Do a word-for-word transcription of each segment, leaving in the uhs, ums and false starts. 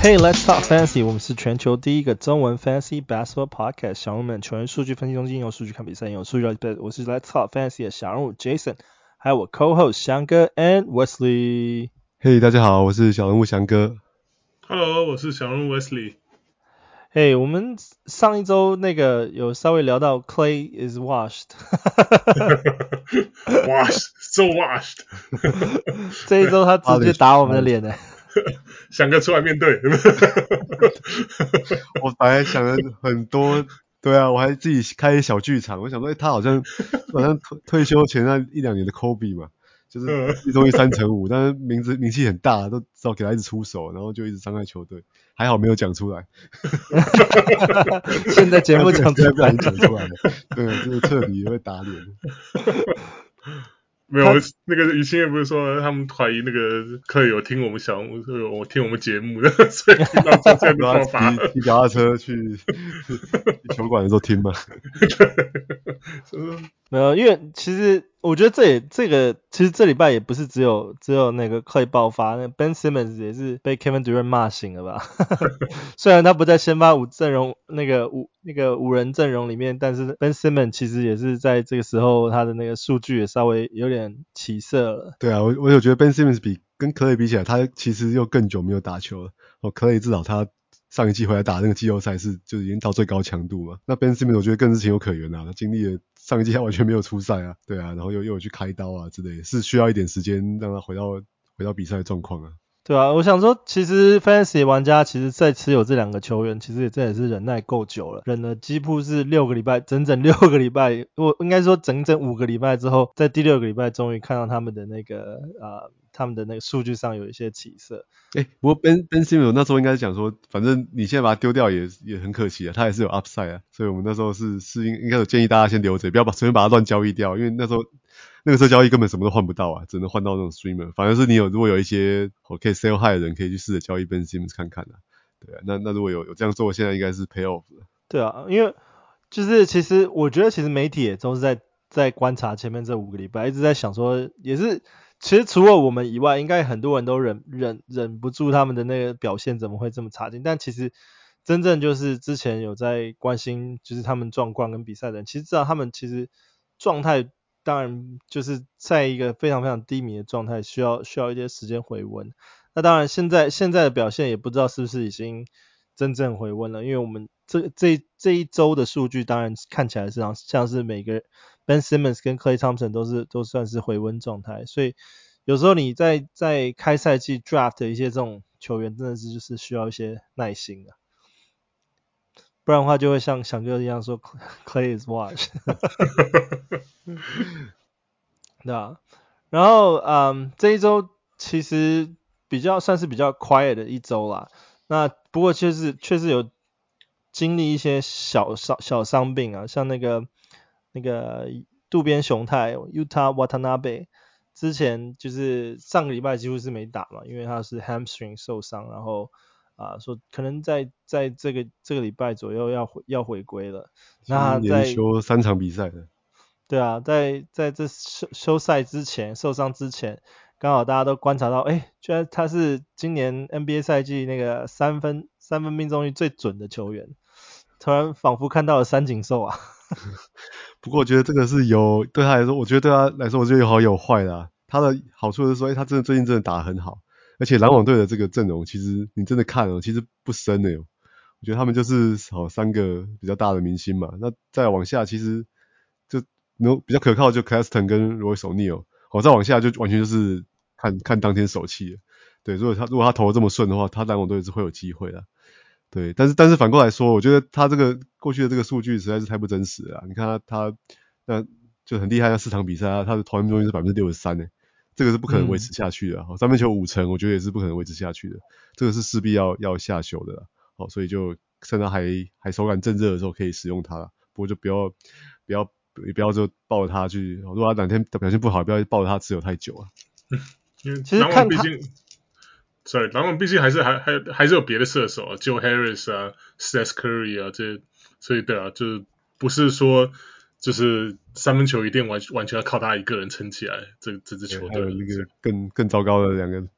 Hey, let's talk fantasy. 我們是全球第一個中文 fantasy basketball podcast。小人物們球員數據分析中心用數據看比賽，用數據來比賽。我是 Let's talk fantasy 的小人物 Jason， 還有我 co-host 翔哥 and Wesley。 嘿， hey, 大家好，我是小人物翔哥。 Hello， 我是小人物 Wesley。 嘿、hey, 我們上一周那個有稍微聊到 Clay is washed。 washed, so washed。 這一周他直接打我們的臉呢。 翔哥出來面對。 我本來想了很多，對啊，我還自己開小劇場，我想說，欸、他好像好像退休前那一兩年的 Kobe 嘛，就是一周一三成五，但是名字名氣很大，都知道給他一直出手，然後就一直傷害球隊，還好沒有講出來。 現在節目講出來， 不然講出來了，對，就是徹底會打臉。 沒有，那個於心也不是說他們懷疑那個克有聽我們小我聽我們節目的，所以聽到這這個說法， 騎腳踏車去球館的時候聽嘛。 沒有，因為其實我覺得這也這個其實這禮拜也不是只有只有那個 Clay 爆發，那 Ben Simmons 也是被 Kevin Durant 罵醒了吧？雖然他不在先發五陣容那個五那個五人陣容裡面，但是 Ben Simmons 其實也是在這個時候他的那個數據也稍微有點起色了。 對啊，我我有覺得 Ben Simmons 比跟 Clay 比起來，他其實又更久沒有打球了。哦 ，Clay 至少他上一季回來打那個季後賽是就已經到最高強度嘛。那 Ben Simmons 我覺得更是情有可原啊，他經歷了上一季他完全沒有出賽啊，對啊，然後又又有去開刀啊之類的，是需要一點時間讓他回到回到比賽的狀況啊。 對啊，我想說，其實 Fantasy 玩家其實在持有這兩個球員，其實也真的是忍耐夠久了，忍了幾乎是六個禮拜，整整六個禮拜，我應該說整整五個禮拜之後，在第六個禮拜終於看到他們的那個呃，他們的那個數據上有一些起色。 誒，不過 Ben Ben Simmons 那時候應該是講說，反正你現在把它丟掉也也很可惜啊，他還是有 upside 啊，所以我們那時候是是應應該有建議大家先留着，不要把隨便把它亂交易掉，因為那時候。那個時候交易根本什麼都換不到啊，只能換到那種 streamer。反而是你有如果有一些可以 sell high 的人，可以去試着交易 Ben Simmons 看看啊。對啊，那那如果有有這樣做，現在應該是 pay off 了。 對啊，因為就是其實我覺得其實媒體也都是在在觀察前面這五個禮拜，一直在想說，也是其實除了我們以外，應該很多人都忍忍忍不住他們的那個表現怎麼會這麼差勁。但其實真正就是之前有在關心就是他們狀況跟比賽的人，其實知道他們其實狀態。當然就是在一個非常非常低迷的狀態，需要需要一些時間回溫。那當然現在現在的表現也不知道是不是已經真正回溫了，因為我們這這這一周的數據當然看起來是像像是每個 Ben Simmons 跟 Klay Thompson 都是都算是回溫狀態，所以有時候你在在開賽季 draft 的一些這種球員真的是就是需要一些耐心的。不然的話就會像翔哥一樣說 Clay is washed。對啊，然後嗯，這一周其實比較算是比較 quiet 的一周啦。那不過確實確實有經歷一些小小小傷病啊，像那個那個渡邊雄太 Yuta Watanabe 之前就是上個禮拜幾乎是沒打嘛，因為他是 hamstring 受傷，然後啊說可能在在這個這個禮拜左右要回要回歸了。那在連休三場比賽的。 對啊，在在這休休賽之前受傷之前，剛好大家都觀察到，哎，居然他是今年 N B A 賽季那個三分三分命中率最準的球員，突然仿佛看到了三井壽啊。 不過我覺得這個是有對他來說，我覺得對他來說，我覺得有好有壞啦、啊。他的好處是說，哎，他真的最近真的打得很好，而且籃網隊的這個陣容，其實你真的看哦，其實不深的喲。我覺得他們就是好三個比較大的明星嘛，那再往下其實就。No, 比較可靠就 Claxton 跟 Royce O'Neal， 好，再往下就完全就是看看當天手氣了。對，如果他如果他投得這麼順的話，他籃網隊是會有機會的。對，但是但是反過來說，我覺得他這個過去的這個數據實在是太不真實了。你看他他那就很厲害，那四場比賽他的投籃命中率是 百分之六十三 誒，這個是不可能維持下去的。好、嗯，三分球五成，我覺得也是不可能維持下去的，這個是勢必要要下修的啦。好，所以就趁他還還手感正熱的時候可以使用它，不過就不要不要。也不要就抱着他去，如果他哪天表現不好，不要抱着他持有太久啊。 因為籃網畢竟 ，sorry， 籃網畢竟還是還還還是有別的射手啊 ，Joe Harris 啊 ，Steph Curry 啊，這所以對啊，就不是說就是三分球一定完完全要靠他一個人撐起來這這支球隊。 還有那個更更糟糕的兩個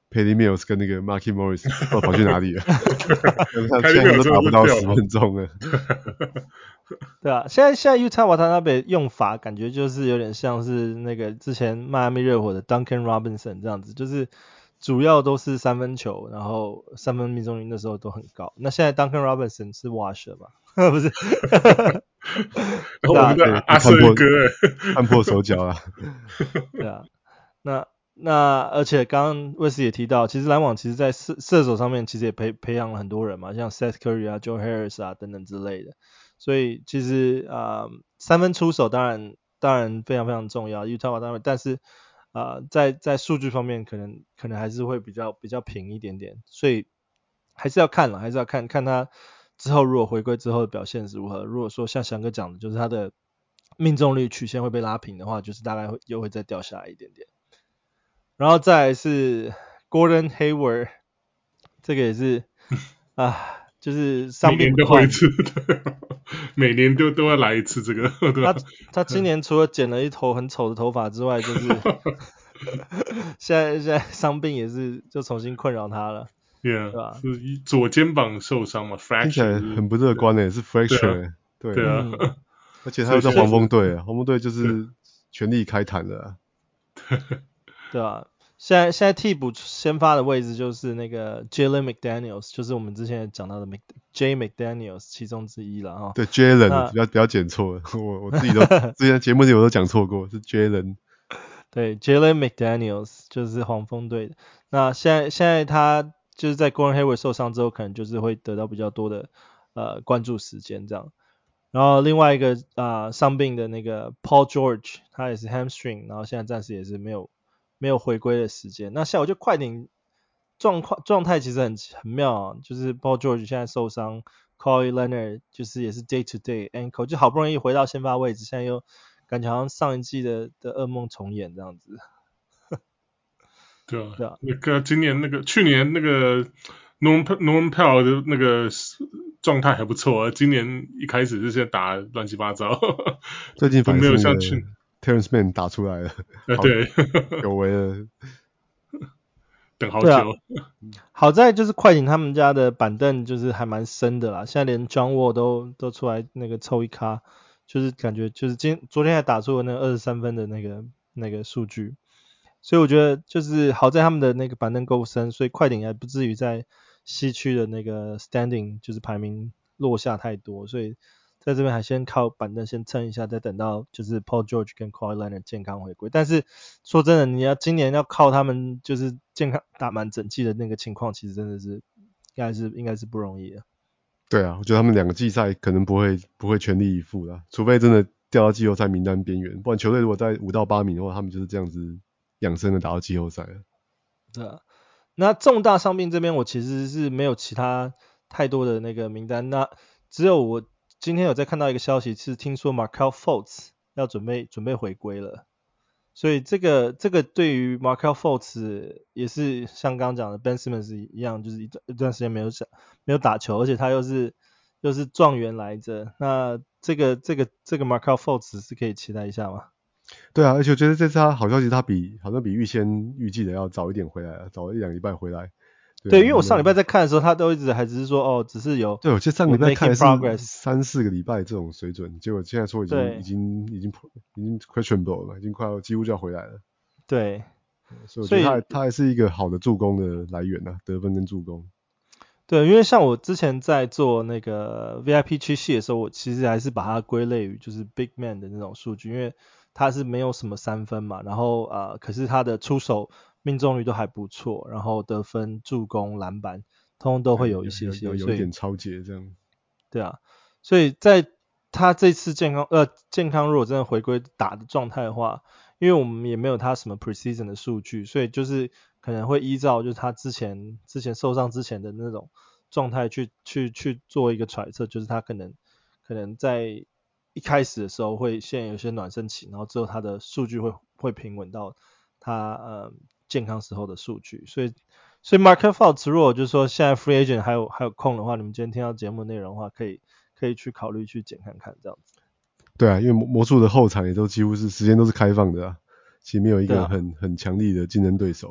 Patty Mills 跟那個 Markieff Morris 不知道跑去哪裡了？ 他現在都打不到十分鐘了。 對啊，現在現在 Utah Watanabe 用法感覺就是有點像是那個之前邁阿密熱火的 Duncan Robinson 這樣子，就是主要都是三分球，然後三分命中率那時候都很高。那現在 Duncan Robinson 是 Wash 吧？不是， 我們的阿瑟哥看破手腳了。 對啊，那那而且剛剛衛斯也提到，其實籃網其實在射射手上面其實也培培養了很多人嘛，像 Seth Curry 啊、Joe Harris 啊等等之類的。所以其實啊、呃，三分出手當然當然非常非常重要 ，Utah 當然，但是啊、呃，在在數據方面可能可能還是會比較比較平一點點，所以還是要看了，還是要看看他之後如果回歸之後的表現是如何。如果說像翔哥講的，就是他的命中率曲線會被拉平的話，就是大概會又會再掉下來一點點。然後再來是 Gordon Hayward， 這個也是啊。就是傷病不斷，每年都會一次， 每年都都要來一次這個。對吧？ 他他今年除了剪了一頭很醜的頭髮之外，就是現在現在傷病也是就重新困擾他了。 Yeah, 對吧？ 是左肩膀受傷嘛 ，fracture， 聽起來很不樂觀誒，是 fracture，對， 對啊， 嗯、 而且他又在黃蜂隊，黃蜂隊就是全力開壇了、啊， 對啊。現在現在替補先發的位置就是那個 Jalen McDaniels， 就是我們之前講到的 Mc, J McDaniels 其中之一了哈。 對 Jalen， 不要不要剪錯了，我我自己都之前節目裡我都講錯過，是 Jalen。 對 Jalen McDaniels 就是黃蜂隊的。那現在現在他就是在 Gordon Hayward 受傷之後，可能就是會得到比較多的呃關注時間這樣。然後另外一個啊傷、呃、病的那個 Paul George， 他也是 hamstring， 然後現在暫時也是沒有。沒有回歸的時間，那像我覺得快艇狀況狀態其實很很妙啊，就是 Paul George 現在受傷 Kawhi Leonard 就是也是 day to day ankle， 就好不容易回到先發位置，現在又感覺好像上一季的的噩夢重演這樣子。 對啊， 對啊， 那個今年那個去年那個 Norm Norm Powell 的那個狀態還不錯啊，今年一開始是現在打亂七八糟， 最近反正沒有像去 Terrence Mann 打出來了， 啊對， 久違了， 等好久。 啊、好在就是快艇他們家的板凳就是還蠻深的啦，現在連 John Wall 都都出來那個湊一咖，就是感覺就是今昨天還打出了那個二十三分的那個那個數據，所以我覺得就是好在他們的那個板凳夠深，所以快艇還不至於在西區的那個 standing 就是排名落下太多，所以在這邊還先靠板凳先撐一下，再等到就是 Paul George 跟 Kawhi Leonard 健康回歸。但是說真的，你要今年要靠他們就是健康打滿整季的那個情況，其實真的是應該是應該是不容易的。 對啊，我覺得他們兩個季賽可能不會不會全力以赴啦，除非真的掉到季後賽名單邊緣，不然球隊如果在五到八名的話，他們就是這樣子養生的打到季後賽了。 對啊，那重大傷病這邊我其實是沒有其他太多的那個名單，那只有我。今天有在看到一個消息，是聽說 Markelle Fultz 要準備準備回歸了，所以這個這個對於 Markelle Fultz 也是像剛剛講的 Ben Simmons 一樣，就是一段一段時間沒有想沒有打球，而且他又是又是狀元來着，那這個這個這個 Markelle Fultz 是可以期待一下嗎？ 對啊，而且我覺得這次他好消息，他比好像比預先預計的要早一點回來了，早一兩禮拜回來。對, 對，因為我上禮拜在看的時候，他都一直還只是說哦，只是有。 對，我記得上禮拜看的是三四個禮拜這種水準，結果現在說已經已經已經已經 questionable 了，已經快要幾乎就要回來了。 對， 所以我覺得他他還是一個好的助攻的來源啊，得分跟助攻。 對，因為像我之前在做那個 V I P 區系的時候，我其實還是把它歸類於就是 big man 的那種數據，因為他是沒有什麼三分嘛，然後呃，可是他的出手命中率都還不錯，然後得分、助攻、籃板，通通都會有一些些， 有有有一點超節這樣。 對啊，所以在他這次健康呃健康如果真的回歸打的狀態的話，因為我們也沒有他什麼 preseason 的數據，所以就是可能會依照就是他之前之前受傷之前的那種狀態去去去做一個揣測，就是他可能可能在一開始的時候會先有一些暖身期，然後之後他的數據會會平穩到他呃健康時候的數據，所以所以 Markelle Fultz 如果就是說現在 free agent 還有還有空的話，你們今天聽到節目內容的話，可以可以去考慮去撿看看這樣子。 對啊，因為魔術的後場也都幾乎是時間都是開放的啊，其實沒有一個很、啊、很強力的競爭對手啊。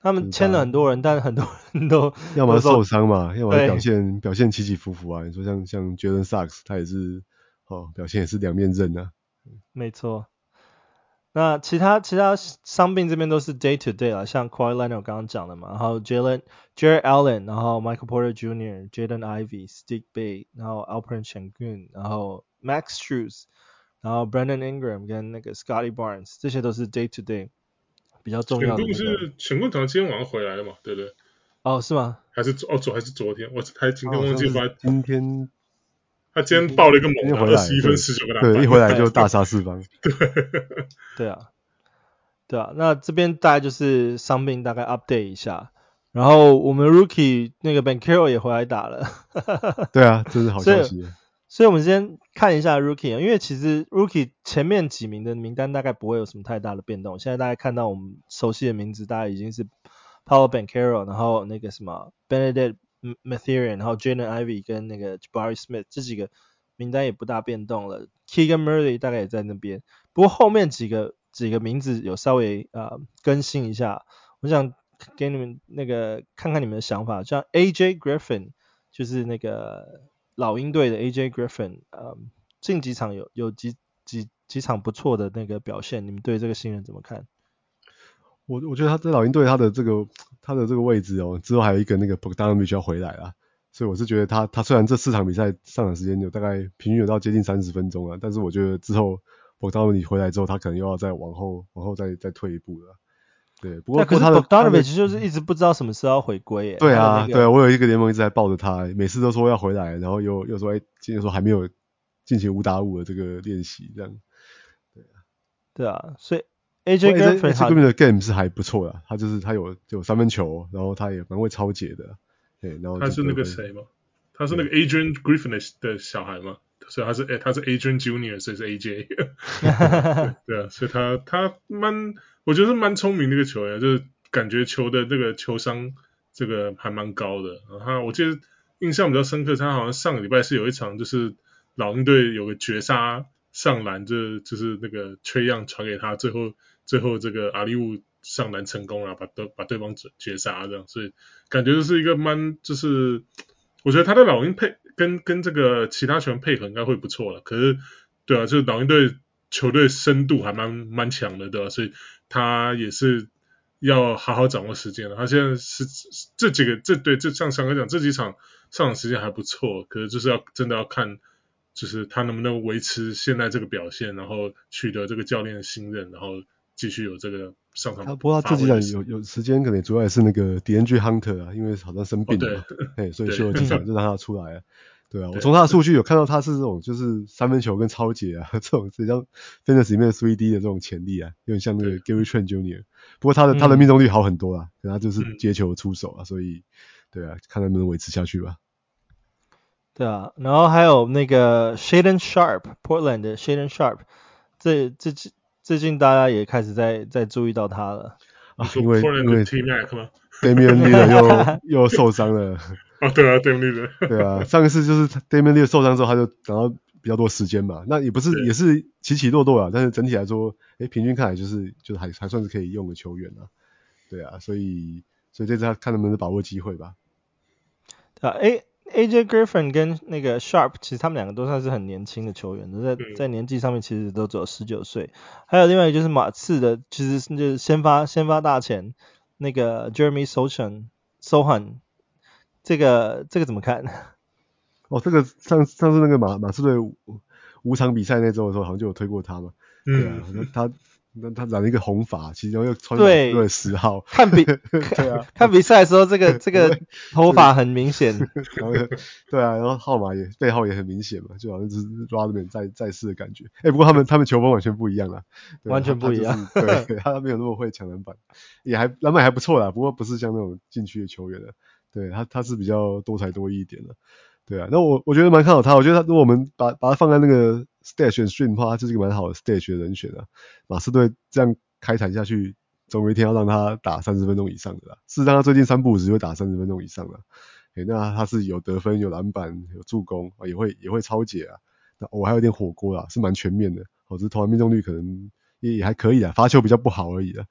他們簽了很多人，但很多人都要麼受傷嘛，要麼表現表現起起伏伏啊。你說像像 Jalen Suggs，他也是哦，表現也是兩面刃啊。 沒錯。那其他其他傷病這邊都是 day to day 啦，像 Kawhi Leonard 剛剛講的嘛，然後 Jalen Jarrett Allen， 然後 Michael Porter Junior、Jaden Ivey、Saddiq Bey， 然後 Alperen Sengun， 然後 Max Strus， 然後 Brandon Ingram 跟那個 Scotty Barnes， 這些都是 day to day 比較重要的、那個。 Sengun 是 Sengun 好像今天晚上回來了嘛，對不對？ 哦，是嗎？ 還是哦昨還是昨天？我還今天忘記把、 哦、今天。 他今天爆了一個猛的，二十一分十九個籃板， 對，一回來就大殺四方。 對， 對啊，對啊，那這邊大概就是傷病大概 update 一下，然後我們 Rookie 那個 Banchero 也回來打了。 對啊，這是好消息。所以， 所以我們先看一下 Rookie， 因為其實 Rookie 前面幾名的名單大概不會有什麼太大的變動。現在大家看到我們熟悉的名字，大概已經是 Paolo Banchero， 然後那個什麼 Benedict Mathurin， 然後 Jaden Ivey 跟那個 Jabari Smith 這幾個名單也不大變動了。Keegan Murray 大概也在那邊，不過後面幾個幾個名字有稍微呃更新一下。我想給你們那個看看你們的想法，像 A J Griffin 就是那個老鷹隊的 A J Griffin， 呃，近幾場有有幾幾幾場不錯的那個表現，你們對這個新人怎麼看？ 我我覺得他在老鷹隊他的這個他的這個位置哦，之後還有一個那個 Bogdanovic 要回來啦，所以我是覺得他他雖然這四場比賽上場時間有大概平均有到接近三十分鐘啊，但是我覺得之後 Bogdanovic 回來之後，他可能又要再往後往後再再退一步了。對，不過可是 Bogdanovic 就是一直不知道什麼時候要回歸耶。 對啊、 那個、 對啊，我有一個聯盟一直在抱着他，每次都說要回來，然後又又說哎，今天說還沒有進行五打五的這個練習這樣。對啊， 對啊，所以。A J Griffin 他的 game 是還不錯的，他就是他有有三分球，然後他也蠻會抄截的，對，然後他是那個誰嗎？他是那個 Adrian Griffin 的小孩嗎？所以他是他是 Adrian Junior， 所以是 A J 對。對啊，所以他他蠻，我覺得是蠻聰明的一個球員，就是感覺球的這個球商這個還蠻高的。然後我記得印象比較深刻，他好像上個禮拜是有一場就是老鷹隊有個絕殺上籃，就就是那個 Trae Young 傳給他，最後。最後這個阿利烏上籃成功了，把對把對方絕殺這樣，所以感覺就是一個蠻就是我覺得他的老鷹配跟跟這個其他球員配合應該會不錯了。可是對啊，就是老鷹隊球隊深度還蠻蠻強的，對吧？所以他也是要好好掌握時間了。他現在是這幾個這對這像上哥講這幾場上場時間還不錯，可是就是要真的要看就是他能不能維持現在這個表現，然後取得這個教練的信任，然後繼續有這個上場。 不過他這幾場有有時間，可能主要也是那個 DeAndre Hunter 啊，因為好像生病了嘛，哦、所以休了幾場就讓他出來了。對啊，我從他的數據有看到他是這種就是三分球跟抄截啊，這種比較 Fantasy 裡面的 三 D 的這種潛力啊，有點像那個 Gary Trent Junior。不過他的他的命中率好很多啦，可能他就是接球出手啊，所以對啊，看能不能維持下去吧。 對啊，然後還有那個 Shaedon Sharpe，Portland 的 Shaedon Sharpe， 這這最近大家也開始在在注意到他了啊，因為因為 T-Mac 嗎 Damian Lillard 又又受傷了。 哦，對啊 ，Damian Lillard。對啊，上一次就是 Damian Lillard 受傷之後，他就拿到比較多時間嘛。那也不是也是起起落落啊，但是整體來說，哎，平均看來就是就是還還算是可以用的球員啊。對啊，所以所以這次他看能不能把握機會吧。 對啊，哎。A J Griffin 跟那個 Sharp 其實他們兩個都算是很年輕的球員，在在年紀上面其實都只有十九歲。還有另外一個就是馬刺的，其實就是先發先發大前那個 Jeremy Sochan Sohan， 這個這個怎麼看？ 哦，這個上上次那個馬馬刺隊五,五場比賽那周的時候，好像就有推過他嘛。嗯、對啊，那他。那他染了一一個紅髮，其中又穿對十號， 看比對啊，看比賽的時候，這個這個頭髮很明顯。 對啊，然後號碼也背號也很明顯嘛，就好像就是 Rodman 在在世的感覺。哎、欸，不過他們他們球風完全不一樣啦， 完全不一樣。 他就是、對，他沒有那麼會搶籃板，也還籃板還不錯啦，不過不是像那種禁區的球員了。對他他是比較多才多藝一點的。對啊，那我我覺得蠻看好他，我覺得他如果我們把把他放在那個 Stash and Stream 的話，他就是一個蠻好的 Stash 的人選啊。馬刺隊這樣開壇下去，總有一天要讓他打三十分鐘以上的啦。事實上，他最近三不五時會打三十分鐘以上的。誒，那他是有得分、有籃板、有助攻，也會也會抄截啊。那我、哦、還有點火鍋啦，是蠻全面的。哦，只是投籃命中率可能也也還可以啊，罰球比較不好而已啦。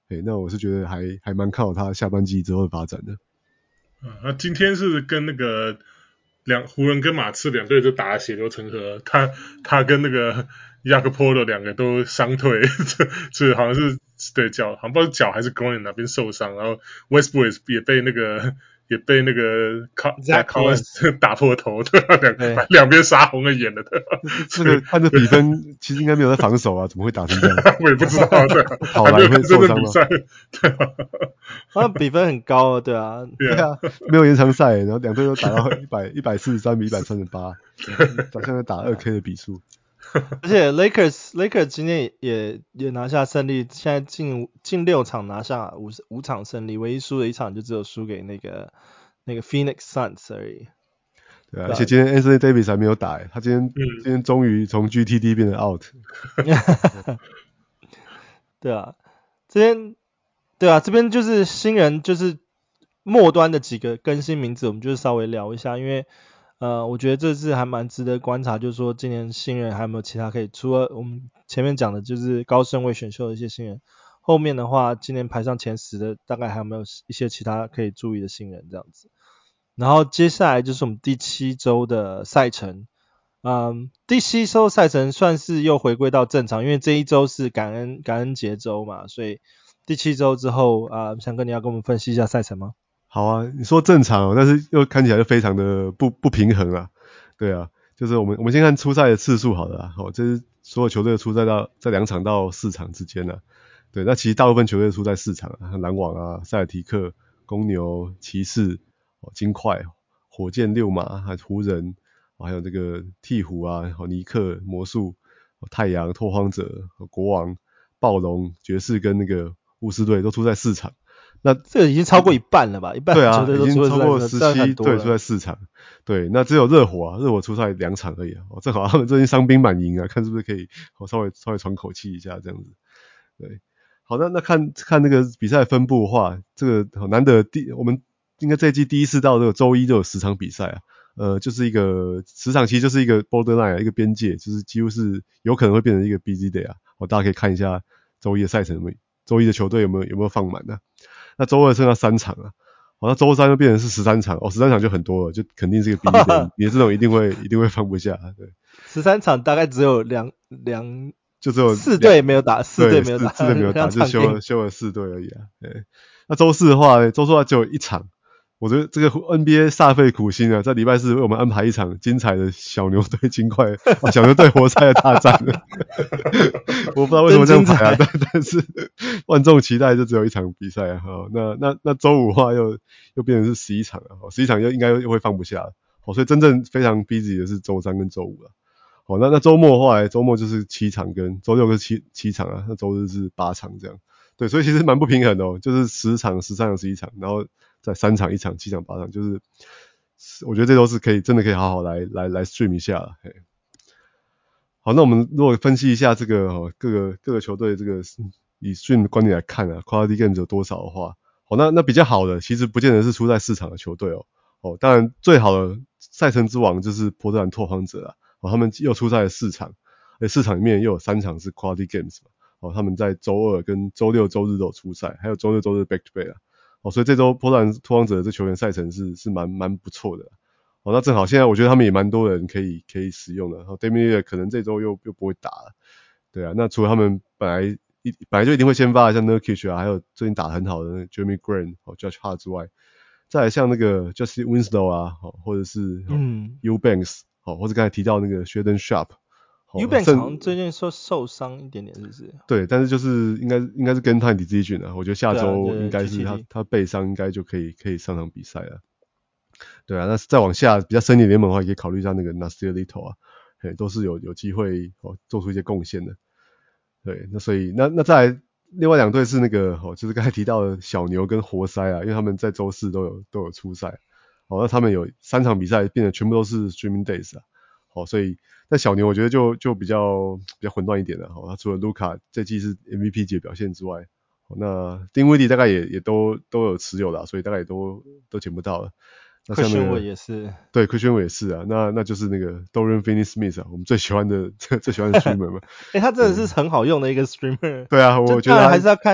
哎，那我是覺得還還蠻看好他下半季之後的發展的。 啊，那今天是跟那個兩湖人跟馬刺兩隊就打得血流成河，他他跟那個亞科波羅兩個都傷退，這這好像是對腳，好像不知道是腳還是 groin 哪邊受傷，然後 Westbrook 也被那個。也被那個卡卡文斯打破頭，對吧？兩兩邊殺紅了眼了，對吧？ 這個看着比分，其實應該沒有在防守啊，怎麼會打成這樣？ 我也不知道，對啊， 跑來會受傷嗎？ 對啊， 好像比分很高啊，對啊， 對啊，沒有延長賽，然後兩隊都打到一百一百四十三比一百三十八，好像在打二 K 的比數。 而且 Lakers Lakers 今天也也拿下勝利，現在近近六場拿下五五場勝利，唯一輸的一場就只有輸給那個那個 Phoenix Suns 而已。 對啊，而且今天 Anthony Davis 還沒有打，他今天、嗯、今天終於從 G T D 變成 out。 對啊，這邊對啊，這邊就是新人，就是末端的幾個更新名字，我們就是稍微聊一下，因為。呃，我覺得這次還蠻值得觀察，就是說今年新人還有沒有其他可以，除了我們前面講的就是高順位選秀的一些新人，後面的話今年排上前十的大概還有沒有一些其他可以注意的新人這樣子。然後接下來就是我們第七周的賽程，嗯，第七周賽程算是又回歸到正常，因為這一周是感恩感恩節周嘛，所以第七周之後啊，翔哥你要跟我們分析一下賽程嗎？ 好啊，你說正常哦，但是又看起來就非常的不不平衡啊。對啊，就是我們我們先看出賽的次數好了啦。哦，這是所有球隊的出賽到在兩場到四場之間啊。對，那其實大部分球隊出賽四場啊，籃網啊、塞爾提克、公牛、騎士、哦、金塊、火箭、溜馬、還有湖人、哦，還有這個鵜鶘啊、哦、尼克、魔術、哦、太陽、拓荒者、哦、國王、暴龍、爵士跟那個巫師隊都出賽四場。那這個已經超過一半了吧？一半球隊都出賽， 對啊，已經超過十七隊出賽四場。對，那只有熱火啊，熱火出賽兩場而已啊。哦，正好他們最近傷兵滿營啊，看是不是可以哦稍微稍微喘口氣一下這樣子。對，好的，那看看那個比賽分布的話，這個難得第我們應該這一季第一次到這個周一都有十場比賽啊。呃，就是一個十場其實就是一個 borderline 啊，一個邊界，就是幾乎是有可能會變成一個 busy day 啊。哦，大家可以看一下周一的賽程有沒有，周一的球隊有沒有有沒有放滿呢？那周二剩下三場啊，好，那周三就變成是十三場哦，十三場就很多了，就肯定是一個 busy day，你的這種一定會一定會放不下，對。十三場大概只有兩兩， 就只有四隊沒有打，四隊沒有打， 四隊沒有打，就休了休了四隊而已啊。對，那周四的話，周四的話只有一場。我覺得這個 N B A 煞費苦心啊，在禮拜四為我們安排一場精彩的小牛隊金塊、啊、小牛隊活塞的大戰了。我不知道為什麼這樣排啊，但但是萬眾期待就只有一場比賽啊。哦、那那那周五的話又又變成是十一場了，十一場又應該又會放不下了。哦，所以真正非常 busy 的是周三跟周五了。哦，那那周末的話，周末就是七場跟周六跟七七場啊，那周日是八場這樣。對，所以其實蠻不平衡的哦，就是十場、十三場、十一場，然後再三場、一場、七場、八場，就是我覺得這都是可以，真的可以好好來來來 stream 一下了。嘿，好，那我們如果分析一下這個哦，各個各個球隊這個以 stream 的觀點來看啊 ，quality games 有多少的話，好，那那比較好的其實不見得是出在四場的球隊哦，哦，當然最好的賽程之王就是波特蘭拓荒者啊，哦，他們又出賽了四場，而且四場裡面又有三場是 quality games 嘛。哦，他們在周二跟周六周日都有出賽，還有周六周日 back to back 啊。哦，所以這周波特蘭拓荒者的這球員賽程是是蠻蠻不錯的。哦，那正好現在我覺得他們也蠻多人可以可以使用的。然後 Damian Lillard 可能這周又又不會打了。對啊，那除了他們本來一本來就一定會先發的像 Nurkic 啊，還有最近打得很好的 Jeremy Grant 哦 Josh Hart 之外，再來像那個 Justice Winslow 啊，哦，或者是嗯 Eubanks 哦，或者剛才提到那個 Shaedon Sharpe。 Eubanks 好像最近說受傷一點點，是不是？ 對，但是就是應該應該是跟他 decision 啊，我覺得下周應該是他、啊、他背傷應該就可以可以上場比賽了。對啊，那再往下比較深一點聯盟的話，也可以考慮一下那個 Nasir Little 啊，嘿，都是有有機會哦做出一些貢獻的。對，那所以那那再來另外兩隊是那個哦，就是剛才提到的小牛跟活塞啊，因為他們在周四都有都有出賽，哦，那他們有三場比賽變得全部都是 streaming days 啊。好，所以在小牛我覺得就就比較比較混亂一點了。好，他除了盧卡這季是 M V P 級表現之外，那丁威迪大概也也都都有持有了，所以大概也都都撿不到了。那下面 Christian 也是， 對 Christian 也是啊。那那就是那個 Dorian Finney-Smith 啊，我們最喜歡的最喜歡的 streamer 嘛。 哎、欸，他真的是很好用的一個 streamer。 對啊，我覺得還是要看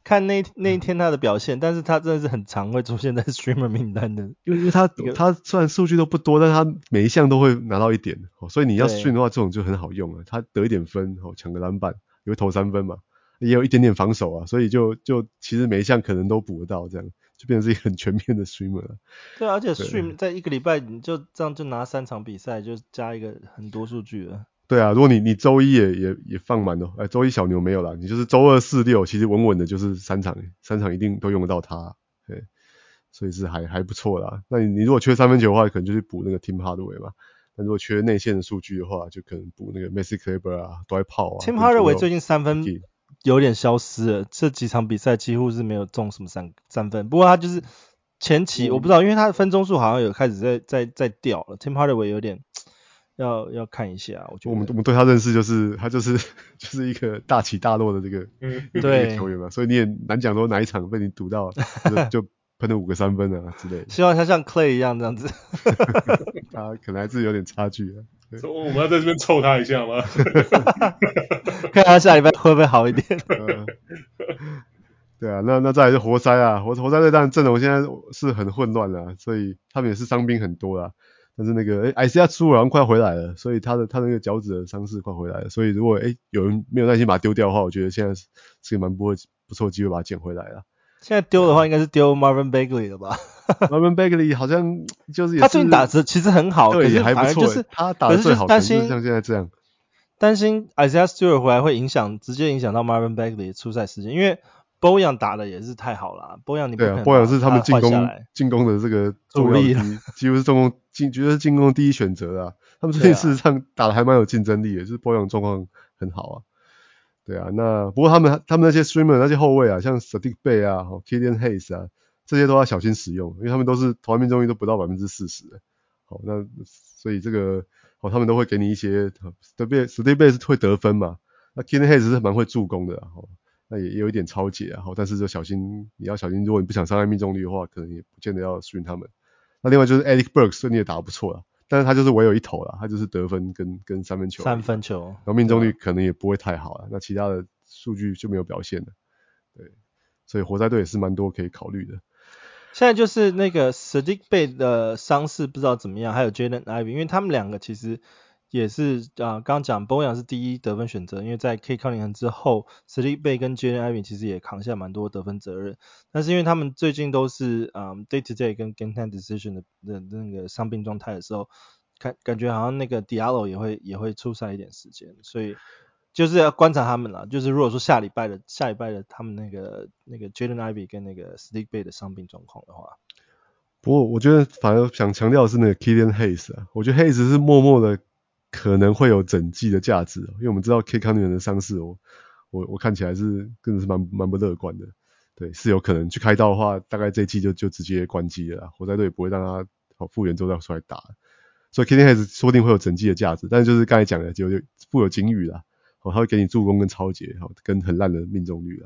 看那那一天他的表現，但是他真的是很常會出現在 streamer 名單的， 因為因為他他雖然數據都不多，但是他每一項都會拿到一點，所以你要 stream 的話，這種就很好用了。他得一點分，搶個籃板，也會投三分嘛，也有一點點防守啊，所以就就其實每一項可能都補得到，這樣就變成是一個很全面的 streamer 了。 對，而且 stream 在一個禮拜你就這樣就拿三場比賽，就加一個很多數據了。 對啊，如果你你週一也也也放滿了，哎，週一小牛沒有啦，你就是週二四六其實穩穩的，就是三場三場一定都用得到它，對，所以是還還不錯啦。那你你如果缺三分球的話，可能就去補那個 Tim Hardaway 嘛。那如果缺內線的數據的話，就可能補那個 Maxi Kleber 啊，Dwight Powell 啊。 Tim Hardaway 最近三分有點消失了，這幾場比賽幾乎是沒有中什麼三三分。不過他就是前期、嗯、我不知道，因為他的分鐘數好像有開始在在在掉了。Tim Hardaway 有點。要要看一下，我覺得我們我們對他認識就是他就是就是一個大起大落的這個嗯一個球員嘛，所以你也難講說哪一場被你賭到就就噴了五個三分啊之類的。 希望他像 Clay 一樣這樣子， 他可能還是有點差距啊。 所以我們要在這邊湊他一下嗎？ 看他下禮拜會不會好一點。 呃、對啊，那那再來是活塞啊，活活塞隊當然陣容現在是很混亂啦，所以他們也是傷兵很多啦。但是那個誒 Isaiah Stewart 好像快回來了，所以他的他的那個腳趾的傷勢快回來了，所以如果誒有人沒有耐心把他丟掉的話，我覺得現在是是個蠻不會不錯的機會把他撿回來了。 現在丟的話應該是丟 Marvin Bagley 了吧 ？Marvin Bagley 好像就是也是他最近打的其實很好， 對， 可是也還不錯， 就是他打的最好， 可是就是擔心像現在這樣， 擔心 Isaiah Stewart 回來會影響直接影響到 Marvin Bagley 的出賽時間，因為Bojan 打的也是太好了 ，Bojan 你不可能對啊 ，Bojan 是他們進攻進攻的這個主力， 幾乎是進攻進，覺得是進攻的第一選擇啊。他們最近事實上打的還蠻有競爭力的，就是 Bojan 狀況很好啊。對啊，那不過他們他們那些 streamer 那些後衛啊，像 Saddiq Bey 啊、Killian Hayes 啊，這些都要小心使用，因為他們都是投籃命中率都不到百分之四十的。好，那所以這個哦，他們都會給你一些 Saddiq Bey 是會得分嘛，那 Killian Hayes 是蠻會助攻的啊。那也有一點抄截啊，但是就小心，你要小心，如果你不想傷害命中率的話，可能也不見得要 stream 他們。那另外就是 Alec Burks 順利也打得不錯啦，但是他就是唯有一投啦，他就是得分跟跟三分球， 三分球， 然後命中率可能也不會太好啦，那其他的數據就沒有表現了。對，所以活塞隊也是蠻多可以考慮的。 現在就是那個 Saddiq Bey 的傷勢不知道怎麼樣，還有 Jaden Ivey， 因為他們兩個其實。也是啊，剛剛講 Bojan 是第一得分選擇，因為在 Cade Cunningham 之後 Saddiq Bey 跟 Jaden Ivey 其實也扛下蠻多得分責任，但是因為他們最近都是嗯 day to day 跟 game time decision 的的那個傷病狀態的時候，感感覺好像那個 Diallo 也會也會出賽一點時間，所以就是要觀察他們啦。就是如果說下禮拜的下禮拜的他們那個那個 Jaden Ivey 跟那個 Saddiq Bey 的傷病狀況的話， 不過我覺得反而想強調的是那個 Killian Hayes 啊，我覺得 Hayes 是默默的。可能會有整季的價值，因為我們知道 Cade Cunningham 的傷勢，我我我看起來是真的是蠻蠻不樂觀的，對，是有可能去開刀的話，大概這一季就就直接關機了啦，活塞隊也不會讓他好復原之後再出來打，所以 Killian Hayes 說不定會有整季的價值，但是就是剛才講的就就富有警語啦，哦，他會給你助攻跟抄截，好，跟很爛的命中率啦。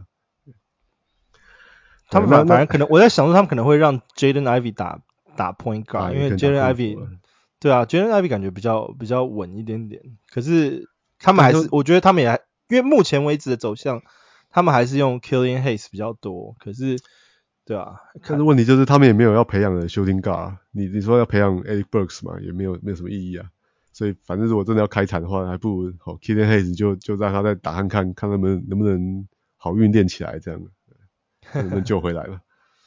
他們反反正可能我在想說他們可能會讓 Jaden Ivey 打打 point guard，啊，因為 Jaden Ivey。對啊 Jaden Ivey 感覺比較比較穩一點點，可是他們還是，我覺得他們也還，因為目前為止的走向，他們還是用 Killian Hayes 比較多，可是，對啊， 但是問題就是他們也沒有要培養的 shooting guard，你你說要培養 Alec Burks 嘛，也沒有沒有什麼意義啊，所以反正如果真的要開產的話，還不如好 Killian Hayes 就就讓他再打看看，看他們能不能好運練起來這樣，看能不能救回來了。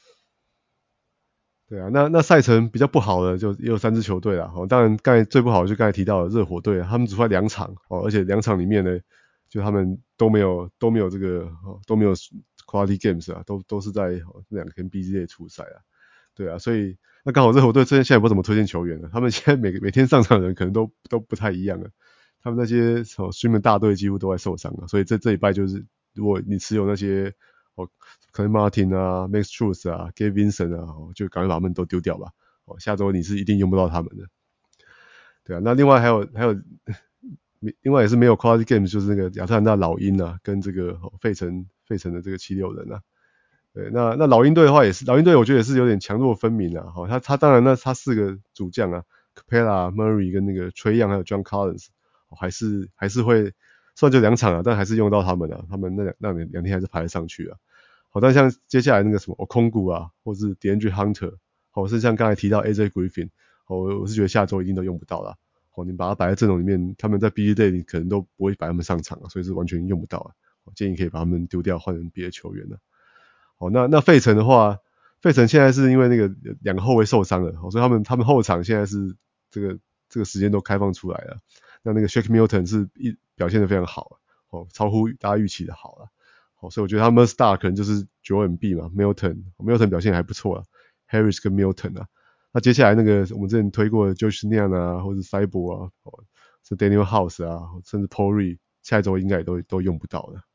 對啊，那那賽程比較不好的就也有三支球隊啦。哦，當然剛才最不好的就剛才提到的熱火隊，他們只出來兩場哦，而且兩場裡面呢，就他們都沒有都沒有這個哦都沒有 quality games 啊，都都是在哦兩個 N B A 出賽啊。對啊，所以那剛好熱火隊現在也不怎麼推薦球員了，他們現在每每天上場的人可能都都不太一樣了，他們那些哦 streamer 大隊幾乎都在受傷了，所以這這禮拜就是如果你持有那些。哦，可能 Martin 啊 ，Max Strus 啊 ，Gabe Vincent 啊，哦，就趕快把他們都丟掉吧。哦，下周你是一定用不到他們的。對啊，那另外還有還有，另外也是沒有 quality games，就是那個亞特蘭大老鷹啊，跟這個哦費城費城的這個七六人啊。對，那那老鷹隊的話也是，老鷹隊我覺得也是有點強弱分明啊。哦，他他當然那他四個主將啊 ，Capela、Murray 跟那個 Trae Young 還有 John Collins，哦，還是還是會。雖然就兩場啊，但還是用到他們啊，他們那兩那兩天還是排得上去啊。 好，但像接下來那個什麼 Okongwu 啊，或是 DeAndre Hunter， 好，是像剛才提到 A J Griffin， 好，我我是覺得下周一定都用不到啦。好，你把它擺在陣容裡面，他們在 B G Day 你可能都不會擺他們上場啊，所以是完全用不到啊。我建議可以把他們丟掉，換成別的球員了。好，那那費城的話，費城現在是因為那個兩個後衛受傷了，所以他們他們後場現在是這個這個時間都開放出來了。那那個 Shake Milton 是一表現得非常好，哦，超乎大家預期的好了。好，所以我覺得他們 Star 可能就是九 M B 嘛 ，Milton Milton 表現還不錯啊 ，Harris 跟 Milton 啊。那接下來那個我們之前推過的 Josh Niang 啊，或者是 Cyborg 啊，哦，是 Daniel House 啊，甚至 Paul Reed， 下一周應該也都都用不到了。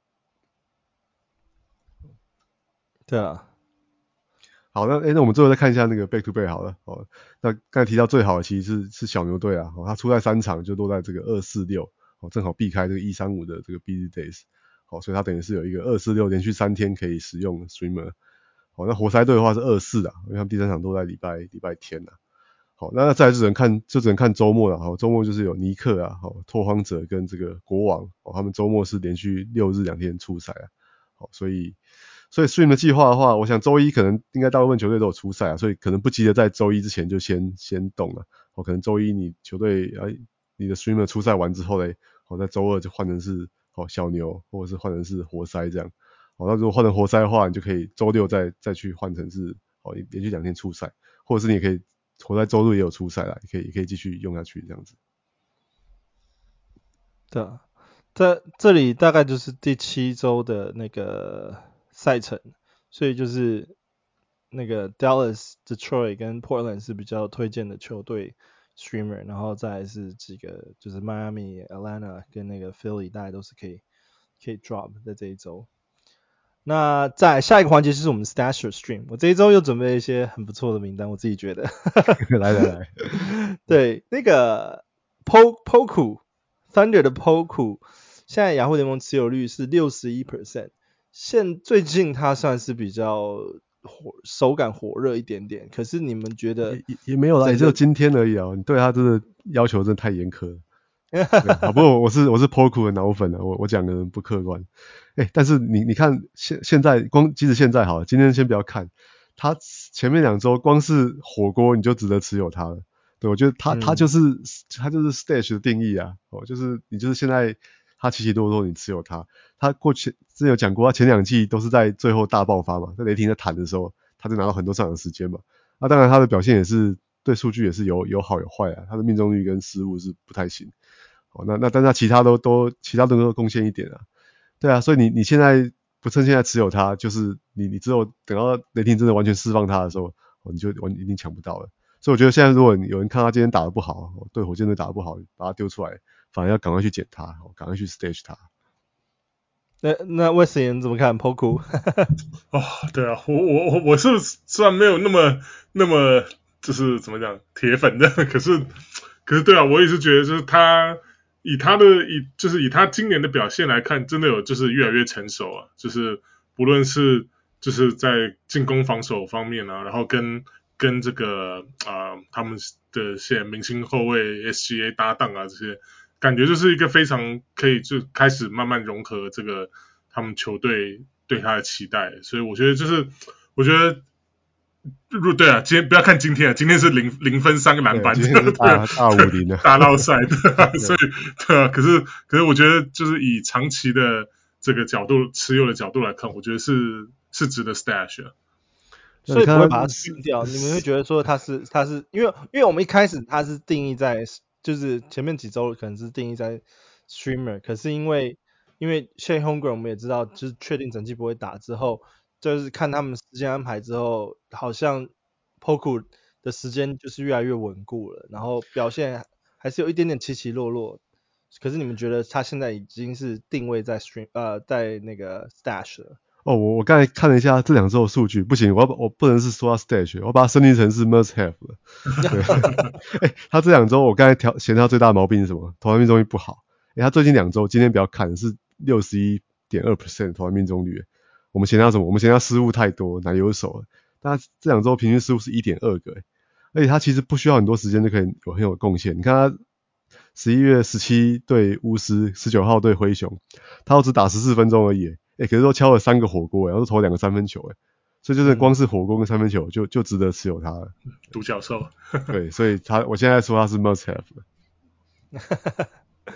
對啊。 好，那誒那我們最後再看一下那個 Back to Back 好了。哦，那剛才提到最好的其實是是小牛隊啊，哦，他出賽三場就落在這個二四六，哦，正好避開這個一三五的這個 busy days。好，所以他等於是有一個二四六連續三天可以使用的 streamer。好，那活塞隊的話是二四啊，因為他們第三場都在禮拜禮拜天啊。好，那再來就只能看就只能看周末了。好，周末就是有尼克啊，好，拓荒者跟這個國王，哦，他們周末是連續六日兩天出賽啊。好，所以所以 stream 的計劃的話，我想周一可能應該大部分球隊都有出賽啊，所以可能不急着在周一之前就先先動了。好，可能周一你球隊啊你的 streamer 出賽完之後嘞，好，在周二就換成是好小牛，或者是換成是活塞這樣。好，那如果換成活塞的話，你就可以周六再再去換成是好連續兩天出賽，或者是你也可以活塞周日也有出賽啦，也可以也可以繼續用下去這樣子。 對啊，在這裡大概就是第七周的那個賽程，所以就是那個 Dallas、Detroit 跟 Portland 是比較推薦的球隊 streamer， 然後再來是幾個就是 Miami、Atlanta 跟那個 Philly 大概都是可以可以 drop 在這一周。那在下一個環節就是我們 Stasher Stream， 我這一周又準備了一些很不錯的名單，我自己覺得。 來來來， 對，那個 Poku Thunder 的 Poku， 現在雅虎聯盟持有率是 百分之六十一， 現最近他算是比較火手感火熱一點點，可是你們覺得也, 也沒有啦，也只有今天而已啊，你對他真的要求真的太嚴苛了。好，不過我是我是 Poku 的腦粉啊，我我講的人不客觀。哎，但是你你看現現在光即使現在好了，今天先不要看，他前面兩周光是火鍋你就值得持有他了。對，我覺得他他就是、嗯、他就是 Stash 的定義啊，哦，就是你就是現在他起起落落你持有他，他過去之前有講過，他前兩季都是在最後大爆發嘛，在雷霆在談的時候，他就拿到很多上場時間嘛。那、啊、當然他的表現也是對數據也是有有好有壞啊，他的命中率跟失誤是不太行。哦，那那但是他其他都都其他都能夠貢獻一點啊，對啊，所以你你現在不趁現在持有他，就是你你只有等到雷霆真的完全釋放他的時候，哦，你就完一定搶不到了。所以我覺得現在如果有人看他今天打得不好，對火箭隊打得不好，把他丟出來，反而要趕快去撿他，趕快去 stage 他。 那那魏斯言怎麼看 Poku？ 哦，對啊，我我我我是雖然沒有那麼那麼就是怎麼講鐵粉的，可是可是對啊，我也是覺得就是他。以他的以就是以他今年的表現來看，真的有就是越來越成熟啊，就是不論是就是在進攻防守方面啊，然後跟跟這個啊、呃、他們的些明星後衛 S G A 搭檔啊，這些感覺就是一個非常可以就開始慢慢融合這個他們球隊對他的期待，所以我覺得就是我覺得。對啊，今天不要看今天啊，今天是零零分三個籃板， 今天是大大五零的大繞賽，對啊，所以對啊，可是可是我覺得就是以長期的這個角度持有的角度來看，我覺得是是值得 stash 的， 所以不會把它清掉。你們會覺得說他是他是因為因為我們一開始他是定義在就是前面幾周可能是定義在 streamer， 可是因為因為 Shea Holmgren 我們也知道就是確定整季不會打之後。就是看他們時間安排之後，好像 Poku 的時間就是越來越穩固了，然後表現還是有一點點起起落落。可是你們覺得他現在已經是定位在 stream 呃在那個 stash 了？ 哦，我我剛才看了一下這兩周的數據，不行，我要我不能是說他 stash， 我把它升級成是 must have 了。對，欸、他這兩周我剛才調嫌他最大的毛病是什麼？投籃命中率不好。欸、他最近兩周，今天比較看是 百分之六十一點二 的投籃命中率。我們嫌他什麼？我們嫌他失誤太多，拿有手了。但他這兩周平均失誤是 一點二 個，而且他其實不需要很多時間就可以有很有貢獻。你看他十一月十七對巫師，十九號對灰熊，他都只打十四分鐘而已， 哎，可是都敲了三個火鍋，然後都投兩個三分球，哎，所以就是光是火鍋跟三分球就就值得持有他了。 獨角獸。 對，所以他我現在說他是 must have 的。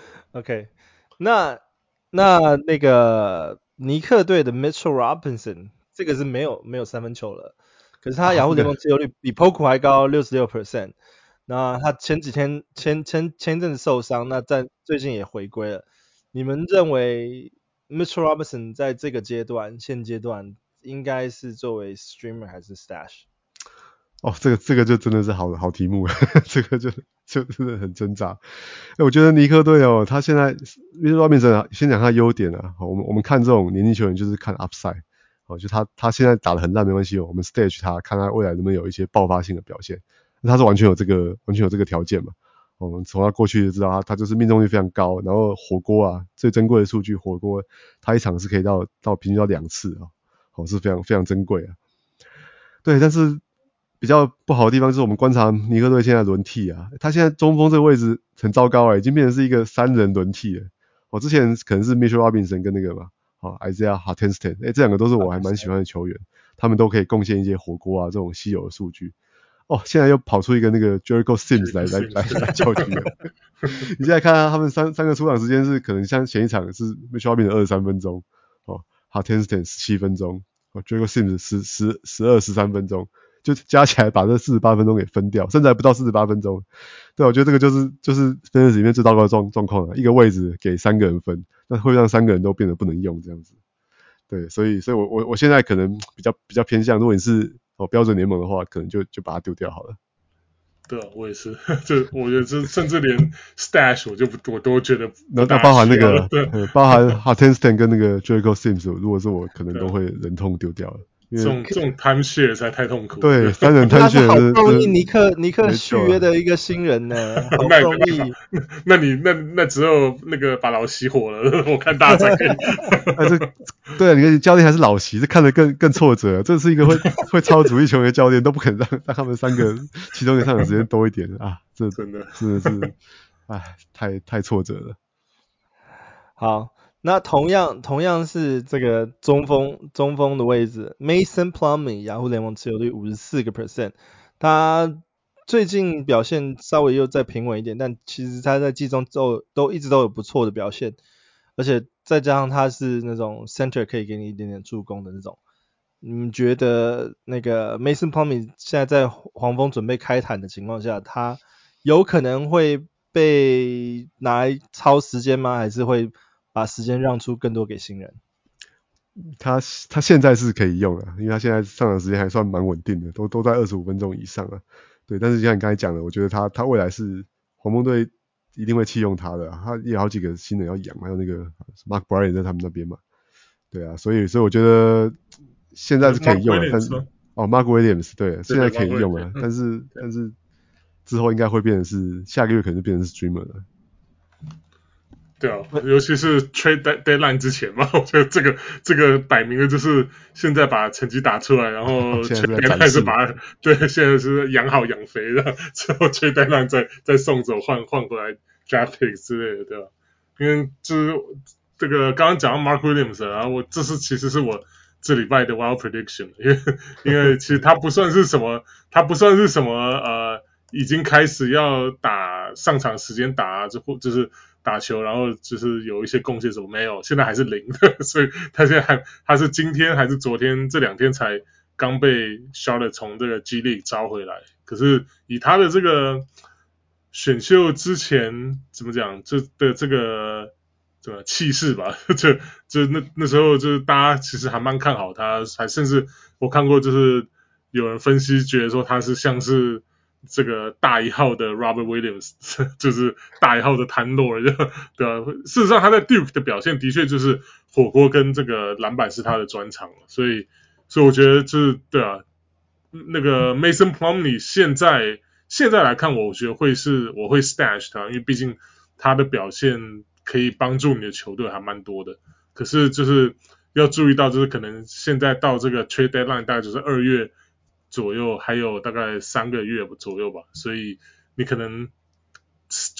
OK， 那那那個尼克隊的 Mitchell Robinson 這個是沒有沒有三分球了，可是他雅虎聯盟持有率比 Poku 還高 百分之六十六。那他前幾天前前前陣子受傷，那在最近也回歸了。你們認為 Mitchell Robinson 在這個階段現階段應該是作為 streamer 還是 stash？ 哦，這個這個就真的是好好題目了，這個就就真的很掙扎。哎，我覺得尼克隊哦，他現在 Mitchell Robinson 啊，先講他優點啊。好，我們我們看這種年輕球員就是看 upside。好，就他他現在打得很爛沒關係哦，我們 stage 他，看他未來能不能有一些爆發性的表現。他是完全有這個完全有這個條件嘛。我們從他過去就知道他他就是命中率非常高，然後火鍋啊最珍貴的數據，火鍋他一場是可以到到平均到兩次啊，好，是非常非常珍貴啊。對，但是比較不好的地方就是我們觀察尼克隊現在輪替啊，他現在中鋒這個位置很糟糕啊，已經變成是一個三人輪替了。我之前可能是 Mitchell Robinson 跟那個嘛，好 Isaiah Hartenstein， 哎，這兩個都是我還蠻喜歡的球員，他們都可以貢獻一些火鍋啊這種稀有的數據。哦，現在又跑出一個那個 Jericho Sims 來來來來叫停了。你現在看啊，他們三三個出場時間是可能像前一場是 Mitchell Robinson 二十三分鐘，哦 Hartenstein 十七分鐘，哦 Jericho Sims 十十十二十三分鐘，就加起來把這四十八分鐘給分掉，甚至還不到四十八分鐘。對，我覺得這個就是就是 Fantasy 裡面最糟糕的狀狀況了，一個位置給三個人分，那會讓三個人都變得不能用這樣子。對，所以所以我我我現在可能比較比較偏向，如果你是哦標準聯盟的話，可能就就把它丟掉好了。 對啊，我也是，就我覺得這甚至連 stash 我就不我都覺得不那那包含那個，呃、包含 Hartenstein 跟那個 Jericho Sims， 如果是我，可能都會忍痛丟掉了。 這種這種 time share 實在太痛苦了。 對，三人 time share 好不容易尼克尼克續約的一個新人呢，好不容易。 那你那那只有那個把老熄火了，我看大家才可以。 啊，這對啊，你看教練還是老習，這看得更更挫折。這是一個會會超主力球員的教練，都不肯讓讓他們三個其中一個上場時間多一點啊！這真的真的是，哎，太太挫折了。 好。那同樣同樣是這個中鋒中鋒的位置 ，Mason Plumlee 雅虎聯盟持有率 百分之五十四， 他最近表現稍微又再平穩一點，但其實他在季中都都一直都有不錯的表現，而且再加上他是那種 center 可以給你一點點助攻的那種。你們覺得那個 Mason Plumlee 現在在黃蜂準備開壇的情況下，他有可能會被拿來超時間嗎？還是會把時間讓出更多給新人？ 他他現在是可以用的，因為他現在上場時間還算蠻穩定的，都都在二十五分鐘以上啊。對，但是像你剛才講的，我覺得他他未來是黃蜂隊一定會棄用他的，他也有好幾個新人要養，還有那個 Mark Bryant 在他們那邊嘛。對啊，所以所以我覺得現在是可以用的，但是哦 Mark Williams 對，對，現在可以用啊，但是但是之後應該會變成是下個月可能就變成是 streamer 了。 對啊，尤其是 trade deadline 之前嘛，我覺得這個這個擺明了就是現在把成績打出來，然後 trade deadline 就把對，現在是養好養肥，然後之後 trade deadline 再再送走換換回來 draft picks 之類的，對吧？因為就是這個剛剛講到 Mark Williams， 然後我這是其實是我這禮拜的 wild prediction， 因為因為其實他不算是什麼，他不算是什麼呃，已經開始要打上場時間打，就或就是打球，然後就是有一些貢獻什麼沒有，現在還是零的，所以他現在還他是今天還是昨天這兩天才剛被 Charlotte 從這個 G League 招回來，可是以他的這個選秀之前怎麼講，這的這個怎麼氣勢吧，就就那那時候就是大家其實還蠻看好他，還甚至我看過就是有人分析覺得說他是像是這個大一號的 Robert Williams， 就是大一號的譚洛爾，對啊，事實上他在 Duke 的表現的確就是火鍋跟這個籃板是他的專長，所以所以我覺得就是對啊，那個 Mason Plumlee 現在現在來看，我覺得會是我會 stash 他，因為畢竟他的表現可以幫助你的球隊還蠻多的。可是就是要注意到，就是可能現在到這個 trade deadline 大概就是二月左右，還有大概三個月左右吧，所以你可能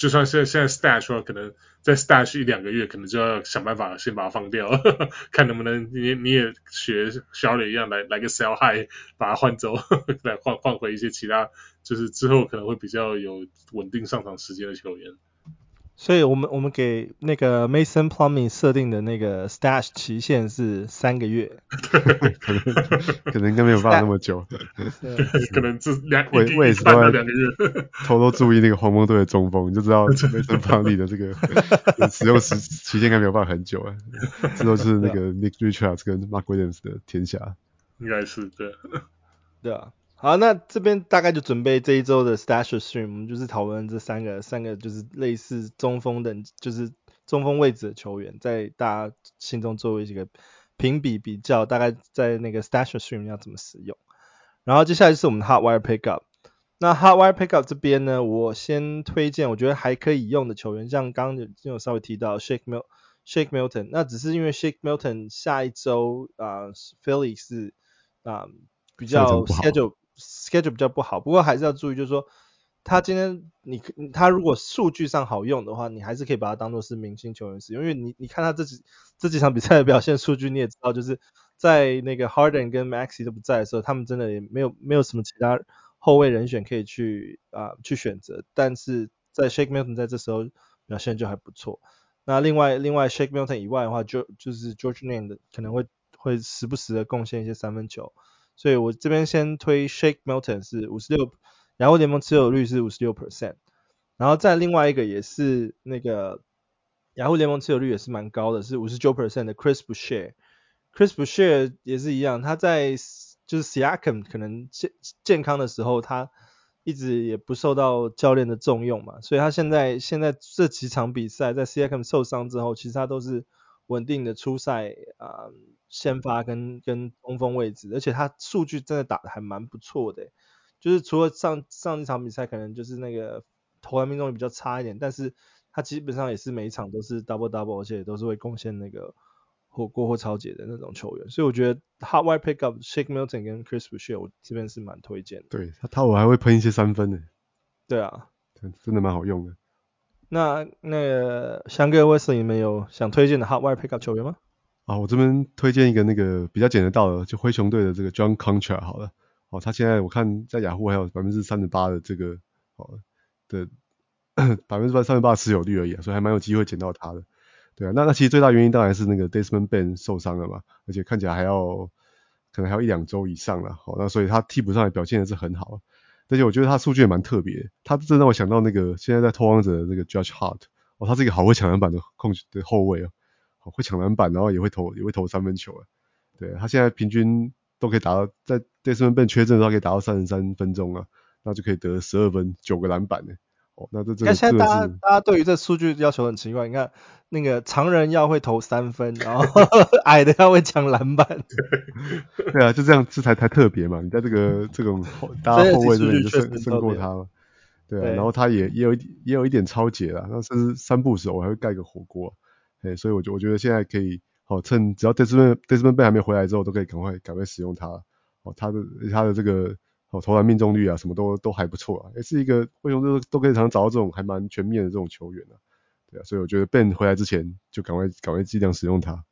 就算現在現在 stash 說可能再 stash 一兩個月，可能就要想辦法先把它放掉，呵呵看能不能你你也學 Charlotte 一樣來來個 sell high 把它換走，呵呵來換換回一些其他就是之後可能會比較有穩定上場時間的球員。 所以我們我們給那個 Mason Plumlee 設定的那個 stash 期限是三個月， 可能可能應該沒有辦法那麼久， 可能這兩我我也是半到兩個月， 偷偷注意那個黃蜂隊的中鋒，你就知道 Mason Plumlee 的這個使用時期限應該沒有辦法很久啊，之後就是那個 Nick Richards 跟 Mark Williams 的天下， 應該是對， 對啊。好，那這邊大概就準備這一周的 Stash Stream， 我們就是討論這三個三個就是類似中鋒的，就是中鋒位置的球員，在大家心中作為一個評比比較，大概在那個 Stash Stream 要怎麼使用。然後接下來就是我們的 Hot Wire Pickup。那 Hot Wire Pickup 這邊呢，我先推薦我覺得還可以用的球員，像剛剛有稍微提到 Shake Mil Shake Milton， 那只是因為 Shake Milton 下一周啊、呃、Philly 是啊、呃、比較 schedule schedule 比較不好，不過還是要注意，就是說他今天你他如果數據上好用的話，你還是可以把他當作是明星球員使用，因為你你看他這幾這幾場比賽的表現數據，你也知道，就是在那個 Harden 跟 Maxey 都不在的時候，他們真的也沒有沒有什麼其他後衛人選可以去啊、呃、去選擇，但是在 Shake Milton 在這時候表現就還不錯。那另外另外 Shake Milton 以外的話，就就是 George Niang 的可能會會時不時的貢獻一些三分球。所以我這邊先推 Shake Milton 是五十六，雅虎聯盟持有率是 百分之五十六， 然後再另外一個也是那個雅虎聯盟持有率也是蠻高的，是 百分之五十九 的 Chris Boucher。Chris Boucher 也是一樣，他在就是 Siakam 可能健健康的時候，他一直也不受到教練的重用嘛，所以他現在現在這幾場比賽在 Siakam 受傷之後，其實他都是穩定的出賽啊、呃，先發跟跟中鋒位置，而且他數據真的打得還蠻不錯的，就是除了上上一場比賽可能就是那個投籃命中率比較差一點，但是他基本上也是每一場都是 double double， 而且都是會貢獻那個火鍋或抄截的那種球員，所以我覺得 Hot Wire Pickup Shake Milton 跟 Chris Boucher 我這邊是蠻推薦的。 對他他我還會噴一些三分呢。 對啊， 真的蠻好用的。 那那個翔哥 Wesley 你們有想推薦的 Hot Wire Pickup 球員嗎？ 啊，我這邊推薦一個那個比較撿得到的，就灰熊隊的這個 John Concha 好了。哦，他現在我看在雅虎還有 百分之三十八 的這個哦的百分之三十八的持有率而已，啊，所以還蠻有機會撿到他的。對啊，那那其實最大原因當然是那個 Desmond Bane 受傷了嘛，而且看起來還要可能還要一兩周以上了。好，那所以他替補上來表現的是很好。而且我覺得他數據也蠻特別，他真讓我想到那個現在在拓荒者的那個 Josh Hart， 哦，他是一個好會搶籃板的控的後衛哦，好會搶籃板，然後也會投也會投三分球啊。對，他現在平均都可以達到，在 Desmond Bane 缺陣的時候可以達到三十三分鐘啊，那就可以得十二分九個籃板呢。哦，那這這個現在大家大家對於這數據要求很奇怪，你看那個長人要會投三分，然後矮的要會搶籃板。 對啊，就這樣這才才特別嘛，你在這個這種大家後衛這邊就勝勝過他嘛。對啊，對，然後他也也有也有一點抄截啦，那甚至三不手我還會蓋個火鍋。哎，所以我覺我覺得現在可以好，哦，趁只要 Desmond Desmond Bane 還沒回來之後，都可以趕快趕快使用它。哦，他的他的這個哦投籃命中率啊，什麼都都還不錯啊，也是一個為什麼都都可以常常找到這種還蠻全面的這種球員啊。對啊，所以我覺得 Bane 回來之前就趕快趕快盡量使用它。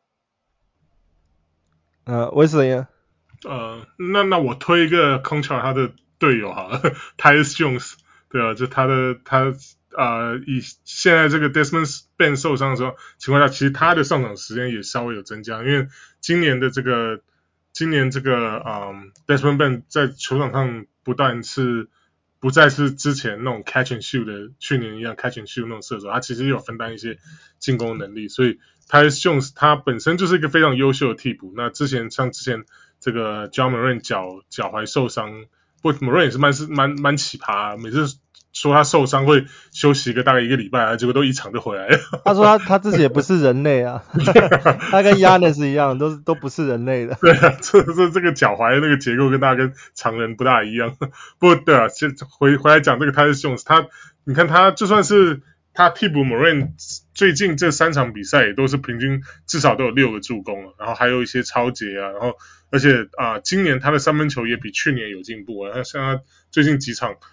呃，Wesley 呢？ 呃，那那我推一個 Concha 他的隊友好了，Tyus Jones， 對啊，就他的他呃以現在這個 Desmond Bane 受傷的時候情況下，其實他的上場時間也稍微有增加，因為今年的這個今年這個嗯 Desmond Bane 在球場上不但是不再是之前那種 catch and shoot 的去年一樣 catch and shoot 那種射手，他其實也有分擔一些進攻能力，所以 Tyus Jones 他本身就是一個非常優秀的替補。那之前像之前這個 Ja Morant 腳腳踝受傷，不 Morant 也是蠻是蠻蠻奇葩，每次說他受傷會休息一個大概一個禮拜，結果都一場就回來了。 他說他他自己也不是人類啊，他跟 Giannis 一樣，都是都不是人類的。 對啊，這這這個腳踝那個結構跟大家跟常人不大一樣。不過對啊，先回回來講這個 Tyus Jones，他你看他就算是他替補 Morant， 最近這三場比賽也都是平均至少都有六個助攻了，然後還有一些抄截啊，然後而且啊、呃，今年他的三分球也比去年有進步啊，像他最近幾場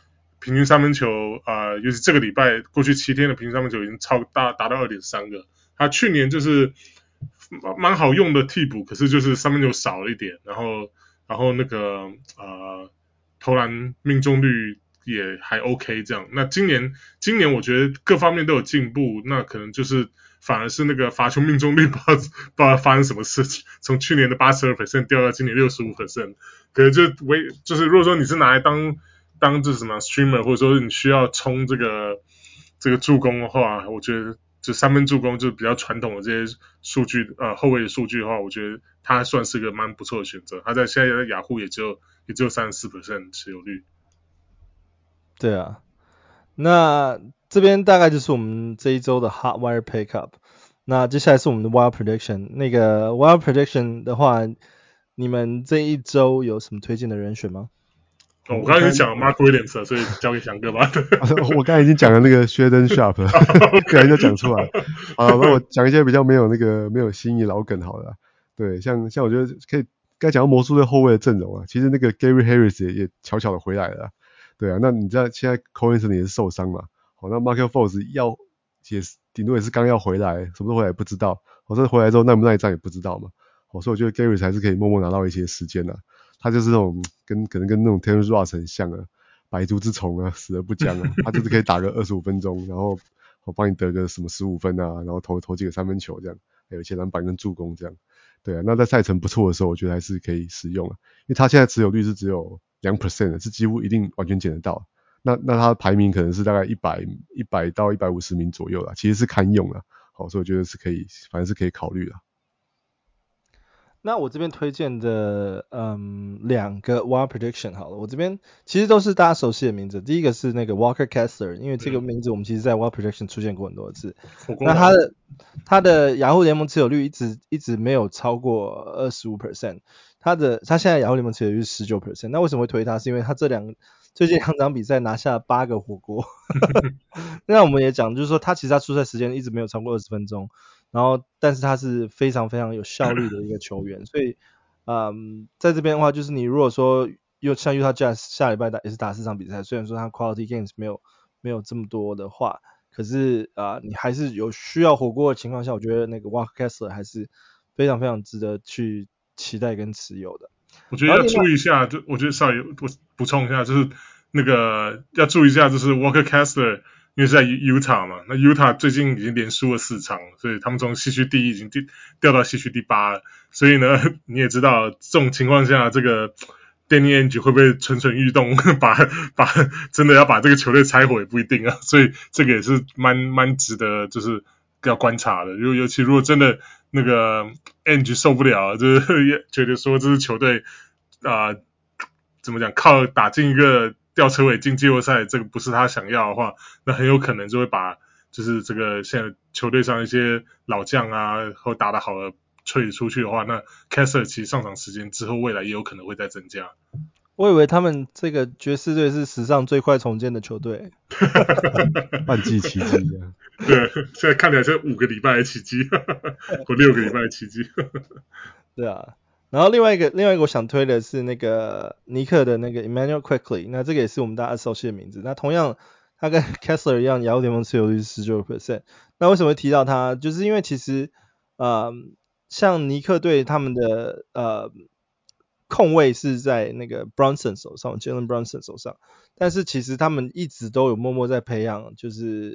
平均三分球啊、呃，尤其這個禮拜過去七天的平均三分球已經超大達到 二點三 個。他去年就是蠻好用的替補，可是就是三分球少了一點，然後然後那個呃投籃命中率也還 OK 這樣。那今年今年我覺得各方面都有進步，那可能就是反而是那個罰球命中率不知道不知道發生什麼事情，從去年的 百分之八十二 掉到今年 百分之六十五， 可能就為就是如果說你是拿來當當這什麼 streamer， 或者說你需要衝這個這個助攻的話，我覺得就三分助攻就比較傳統的這些數據呃後衛的數據的話，我覺得他算是個蠻不錯的選擇。他在現在在雅虎也只有也只有 百分之三十四 持有率。 對啊，那這邊大概就是我們這一周的 Hot Wire Pickup。那接下來是我們的 Wild Prediction。那個 Wild Prediction 的話，你們這一周有什麼推薦的人選嗎？ 哦，我剛才已經講了 Mark Williams， 所以交給翔哥吧。 我剛才已經講了那個 Shaedon Sharpe 了，不然就講出來。好，那我講一些比較沒有那個沒有新意老梗好了。對，像像我覺得可以，剛才講到魔術隊後衛的陣容啊，其實那個 Gary Harris 也也悄悄的回來了。對啊，那你知道現在 Cole Anthony 也是受傷嘛？好，那 Markelle Fultz 要也是頂多也是剛要回來，什麼時候回來也不知道。好，這回來之後耐不耐戰也不知道嘛。好，所以我覺得 Gary 還是可以默默拿到一些時間的。他就是那種跟可能跟那種 Terrence Ross 很像啊，百足之蟲啊，死而不僵啊。他就是可以打個二十五分鐘，然後我幫你得個什麼十五分啊，然後投投幾個三分球這樣，還有一些籃板跟助攻這樣。對啊，那在賽程不錯的時候，我覺得還是可以使用啊，因為他現在持有率是只有百分之二 的，是幾乎一定完全撿得到。那那他的排名可能是大概一百一百到一百五十名左右啦，其實是堪用啦。好，所以我覺得是可以，反正是可以考慮啦。 那我這邊推薦的，嗯，兩個 Wild Prediction 好了，我這邊其實都是大家熟悉的名字。第一個是那個 Walker Kessler， 因為這個名字我們其實在 Wild Prediction 出現過很多次。嗯、那他的他的雅虎聯盟持有率一直一直沒有超過 百分之二十五， 他的他現在雅虎聯盟持有率是 百分之十九。那為什麼會推他？是因為他這兩最近兩場比賽拿下八個火鍋。那我們也講，就是說他其實他出賽時間一直沒有超過二十分鐘。然後，但是他是非常非常有效率的一個球員，所以，嗯，在這邊的話，就是你如果說又像 Utah Jazz 下禮拜打也是打四場比賽，雖然說他 quality games 沒有沒有這麼多的話，可是啊、呃，你還是有需要火鍋的情況下，我覺得那個 Walker Kessler 還是非常非常值得去期待跟持有的。 我覺得要注意一下，就我覺得稍微我補充一下，就是那個要注意一下，就是 Walker Kessler。因為是在 Utah 嘛，那 Utah 最近已經連輸了四場，所以他們從西區第一已經掉到西區第八了。所以呢，你也知道這種情況下，這個 Danny Ainge 會不會蠢蠢欲動，把把真的要把這個球隊拆夥也不一定啊。所以這個也是蠻蠻值得就是要觀察的。如尤其如果真的那個 Ainge 受不了，就是覺得說這支球隊啊、呃、怎麼講，靠打進一個吊車尾進季後賽，這個不是他想要的話，那很有可能就會把就是這個現在球隊上一些老將啊，或打得好的吹出去的話，那 Kessler 其實上場時間之後未來也有可能會再增加。 我以為他們這個爵士隊是史上最快重建的球隊， 半季奇蹟啊！ 對，現在看起來是五個禮拜的奇蹟，或六個禮拜的奇蹟。對啊。然後另外一個另外一個我想推的是那個尼克的那個 Immanuel Quickley， 那這個也是我們大家熟悉的名字。那同樣他跟 Kessler 一樣，雅虎聯盟持有率是 百分之十九。那為什麼會提到他？就是因為其實呃像尼克隊他們的呃控衛是在那個 Brunson 手上 Jalen Brunson 手上，但是其實他們一直都有默默在培養就是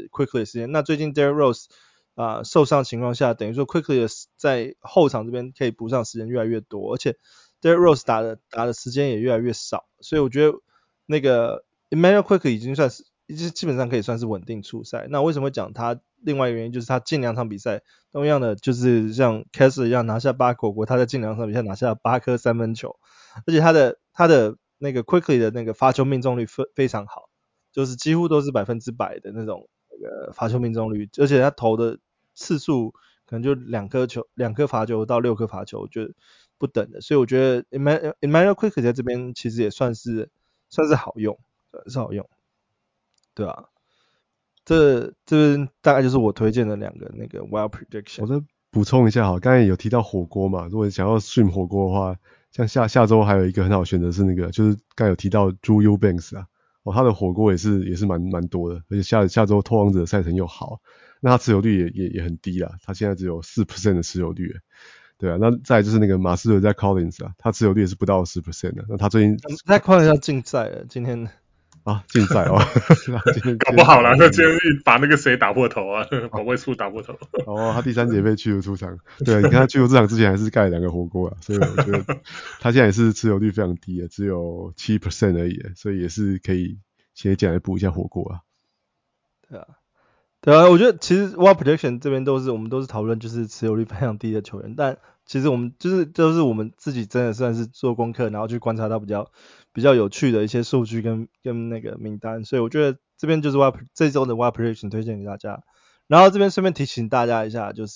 Quickley 的時間。那最近 Derrick Rose啊、呃，受傷情況下，等於說 Quickley 在後場這邊可以補上時間越來越多，而且 Derrick Rose 打的打的時間也越來越少，所以我覺得那個 Immanuel Quickley 已經算是基本上可以算是穩定出賽。那為什麼會講他？另外一個原因就是他近兩場比賽同樣的就是像 Kessler 一樣拿下八個火鍋，他在近兩場比賽拿下八顆三分球，而且他的他的那個 Quickley 的那個罰球命中率非非常好，就是幾乎都是百分之百的那種那個罰球命中率，而且他投的次數可能就兩顆球，兩顆罰球到六顆罰球，就不等的。所以我覺得 Immanuel Immanuel Quickley 在這邊其實也算是算是好用，是好用，對啊。這這大概就是我推薦的兩個那個 Wild Prediction。 我再補充一下哈，剛才有提到火鍋嘛，如果想要stream火鍋的話，像下下周還有一個很好選擇是那個，就是剛才有提到 Drew Eubanks 啊。 哦，他的火鍋也是也是蠻蠻多的，而且下下周拓荒者賽程又好，那他持有率也也也很低啦，他現在只有 百分之四 的持有率，對啊，那再來就是那個馬刺的 Zach Collins 啊，他持有率也是不到 百分之十 的，那他最近 Zach Collins 要禁賽了，今天啊禁賽哦， 搞不好啦，他今天把那個誰打破頭啊，保衛處打破頭， 哦，他第三節被驅逐出場，對，你看他驅逐出場之前還是蓋了兩個火鍋啊，所以我覺得他現在也是持有率非常低的，只有 百分之七 而已，所以也是可以先進來補一下火鍋啊， 對啊。對啊，我覺得其實 Wall Projection 這邊都是我們都是討論就是持有率非常低的球員，但其實我們就是都是我們自己真的算是做功課，然後去觀察到比較比較有趣的一些數據跟跟那個名單，所以我覺得這邊就是 Wall 這週的 Wall Projection 推薦給大家。然後這邊順便提醒大家一下，就是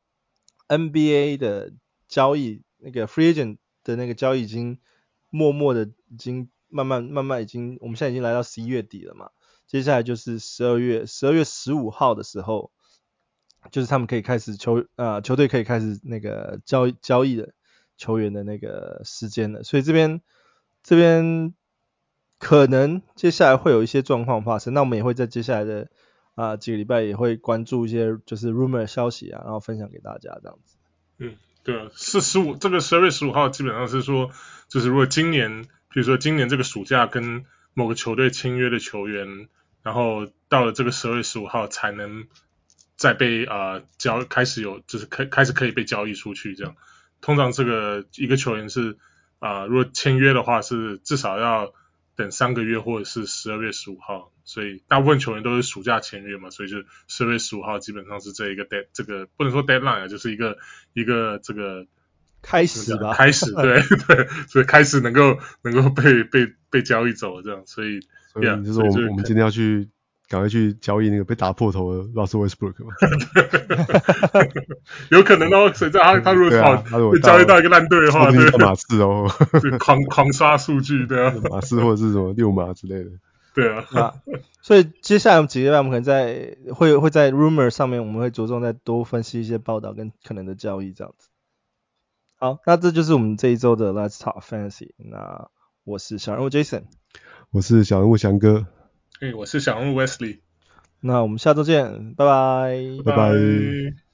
N B A 的交易那個 Free Agent 的那個交易已經默默的已經慢慢慢慢已經我們現在已經來到十一月底了嘛。接下來就是十二月十二月十五號的時候，就是他們可以開始球呃球隊可以開始那個交易交易的球員的那個時間了，所以這邊這邊可能接下來會有一些狀況發生，那我們也會在接下來的啊、呃、幾個禮拜也會關注一些就是 rumor 的消息啊，然後分享給大家這樣子。 嗯，對啊，是十五這個十二月十五號基本上是說，就是如果今年比如說今年這個暑假跟某個球隊簽約的球員，然後到了這個十二月十五號才能再被啊、呃、交開始有就是開開始可以被交易出去這樣。通常這個一個球員是啊、呃、如果簽約的話是至少要等三個月或者是十二月十五號，所以大部分球員都是暑假簽約嘛，所以就十二月十五號基本上是這一個 dead 這個不能說 deadline 啊，就是一個一個這個。 開始吧， 開始對對，所以開始能夠能夠被被被交易走這樣，所以所以就是我們、yeah, 我們今天要去趕快去交易那個被打破頭的 Russell Westbrook 嘛， 有可能哦，誰知道他他如果跑、啊、被交易到一個爛隊的話，對馬刺哦， 狂狂刷數據對啊， 馬刺或者是什麼六馬之類的， 對啊， 啊所以接下來我們幾個月我們可能在會會在 rumor 上面我們會着重再多分析一些報道跟可能的交易這樣子。好，那這就是我們這一周的 Let's Talk Fantasy。那我是小人物 Jason， 我是小人物翔哥， 欸，我是小人物 Wesley。 那我們下周見，拜拜， 拜拜。